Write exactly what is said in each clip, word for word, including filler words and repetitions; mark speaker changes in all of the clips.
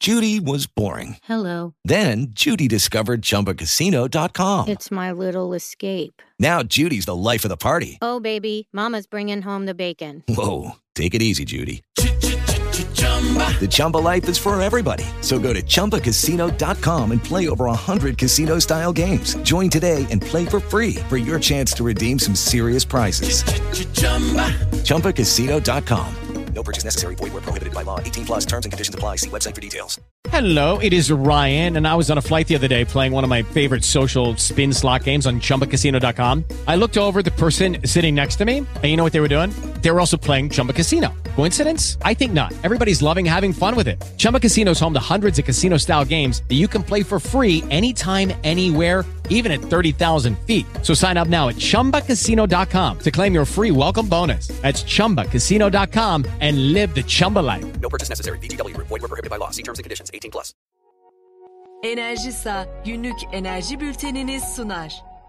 Speaker 1: Judy was boring.
Speaker 2: Hello.
Speaker 1: Then Judy discovered Chumba Casino dot com.
Speaker 2: It's my little escape.
Speaker 1: Now Judy's the life of the party.
Speaker 2: Oh, baby, mama's bringing home the bacon.
Speaker 1: Whoa, take it easy, Judy. The Chumba life is for everybody. So go to Chumba Casino dot com and play over one hundred casino-style games. Join today and play for free for your chance to redeem some serious prizes. Chumba Casino dot com. No purchase necessary. Void where prohibited by law. eighteen plus terms and conditions apply. See website for details.
Speaker 3: Hello, it is Ryan, and I was on a flight the other day playing one of my favorite social spin slot games on Chumba Casino dot com. I looked over at the person sitting next to me, and you know what they were doing? They were also playing Chumba Casino. Coincidence? I think not. Everybody's loving having fun with it. Chumba Casino is home to hundreds of casino-style games that you can play for free anytime, anywhere, even at thirty thousand feet. So sign up now at Chumba Casino dot com to claim your free welcome bonus. That's Chumba Casino dot com and live the Chumba life.
Speaker 1: No purchase necessary. V G W. Void where prohibited by law. See terms and conditions. eighteen plus.
Speaker 4: Enerjisa günlük enerji bülteniniz sunar.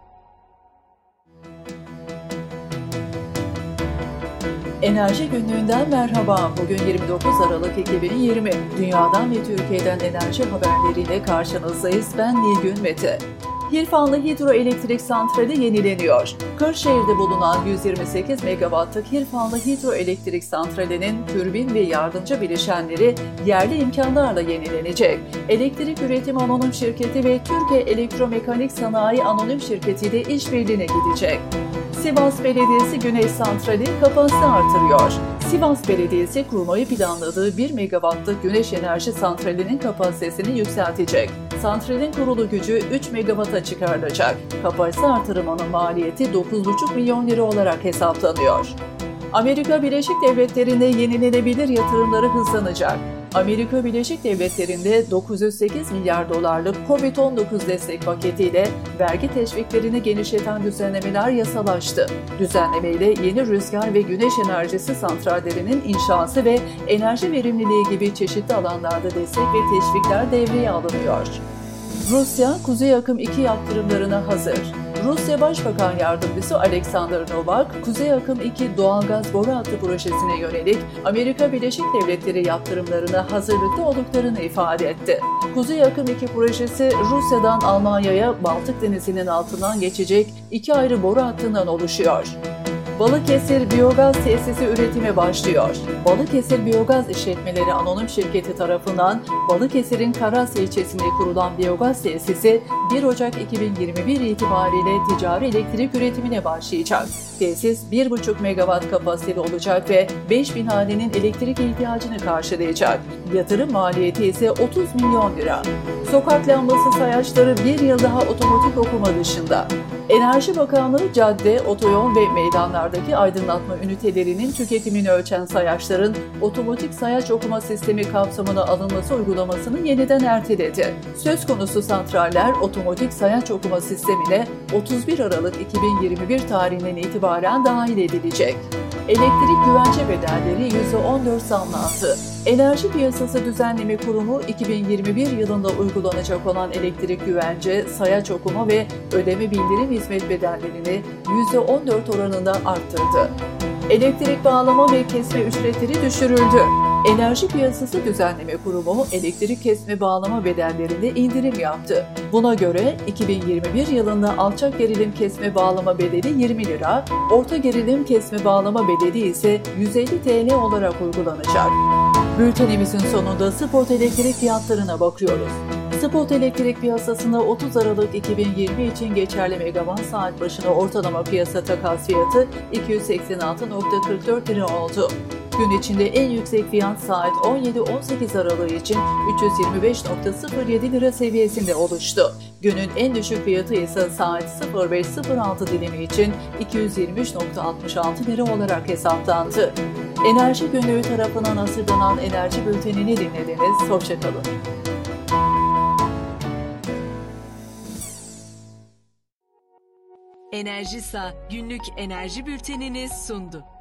Speaker 5: Enerji günlüğünden merhaba. Bugün yirmi dokuz Aralık iki bin yirmi. Dünyadan ve Türkiye'den enerji haberleriyle karşınızdayız. Ben Nilgün Mete. Hirfanlı Hidroelektrik Santrali yenileniyor. Kırşehir'de bulunan yüz yirmi sekiz megawattlık Hirfanlı Hidroelektrik Santrali'nin türbin ve yardımcı bileşenleri yerli imkanlarla yenilenecek. Elektrik Üretim Anonim Şirketi ve Türkiye Elektromekanik Sanayi Anonim Şirketi ile işbirliğine gidecek. Sivas Belediyesi Güneş Santrali kapasite artırıyor. Sivas Belediyesi kurmayı planladığı bir megawattlık güneş enerji santralinin kapasitesini yükseltecek. Santralin kurulu gücü üç megawatta çıkarılacak. Kapasite artırımının maliyeti dokuz buçuk milyon lira olarak hesaplanıyor. Amerika Birleşik Devletleri'nde yenilenebilir yatırımları hızlanacak. Amerika Birleşik Devletleri'nde dokuz yüz sekiz milyar dolarlık kovid on dokuz destek paketiyle vergi teşviklerini genişleten düzenlemeler yasalaştı. Düzenlemeyle yeni rüzgar ve güneş enerjisi santrallerinin inşası ve enerji verimliliği gibi çeşitli alanlarda destek ve teşvikler devreye alınıyor. Rusya, Kuzey Akım iki yaptırımlarına hazır. Rusya Başbakan Yardımcısı Alexander Novak, Kuzey Akım iki doğalgaz boru hattı projesine yönelik Amerika Birleşik Devletleri yaptırımlarına hazırlıklı olduklarını ifade etti. Kuzey Akım iki projesi Rusya'dan Almanya'ya Baltık Denizi'nin altından geçecek iki ayrı boru hattından oluşuyor. Balıkesir Biyogaz Tesisi üretime başlıyor. Balıkesir Biyogaz İşletmeleri Anonim Şirketi tarafından Balıkesir'in Karasya ilçesinde kurulan biyogaz tesisi bir Ocak iki bin yirmi bir itibariyle ticari elektrik üretimine başlayacak. Tesis bir buçuk megawatt kapasiteli olacak ve beş bin hanenin elektrik ihtiyacını karşılayacak. Yatırım maliyeti ise otuz milyon lira. Sokak lambası sayaçları bir yıl daha otomatik okuma dışında. Enerji Bakanlığı cadde, otoyol ve meydanlardaki aydınlatma ünitelerinin tüketimini ölçen sayaçların otomatik sayaç okuma sistemi kapsamına alınması uygulamasını yeniden erteledi. Söz konusu santraller otomatik sayaç okuma sistemine otuz bir Aralık iki bin yirmi bir tarihinden itibaren dahil edilecek. Elektrik güvence bedelleri yüzde on dört zamlandı. Enerji Piyasası Düzenleme Kurumu iki bin yirmi bir yılında uygulanacak olan elektrik güvence, sayaç okuma ve ödeme bildirim hizmet bedellerini yüzde on dört oranında arttırdı. Elektrik bağlama ve kesme ücretleri düşürüldü. Enerji Piyasası Düzenleme Kurumu elektrik kesme bağlama bedellerinde indirim yaptı. Buna göre iki bin yirmi bir yılında alçak gerilim kesme bağlama bedeli yirmi lira, orta gerilim kesme bağlama bedeli ise yüz elli TL olarak uygulanacak. Bültenimizin sonunda spot elektrik fiyatlarına bakıyoruz. Spot elektrik piyasasında otuz Aralık iki bin yirmi için geçerli megawatt saat başına ortalama piyasa takas fiyatı iki yüz seksen altı nokta kırk dört lira oldu. Gün içinde en yüksek fiyat saat on yedi on sekiz Aralık için üç yüz yirmi beş nokta sıfır yedi lira seviyesinde oluştu. Günün en düşük fiyatı ise saat sıfır beş sıfır altı dilimi için iki yüz yirmi üç nokta altmış altı lira olarak hesaplandı. Enerji Günlüğü tarafından hazırlanan enerji bültenini dinlediniz. Hoşça kalın.
Speaker 4: Enerjisa günlük enerji bültenini sundu.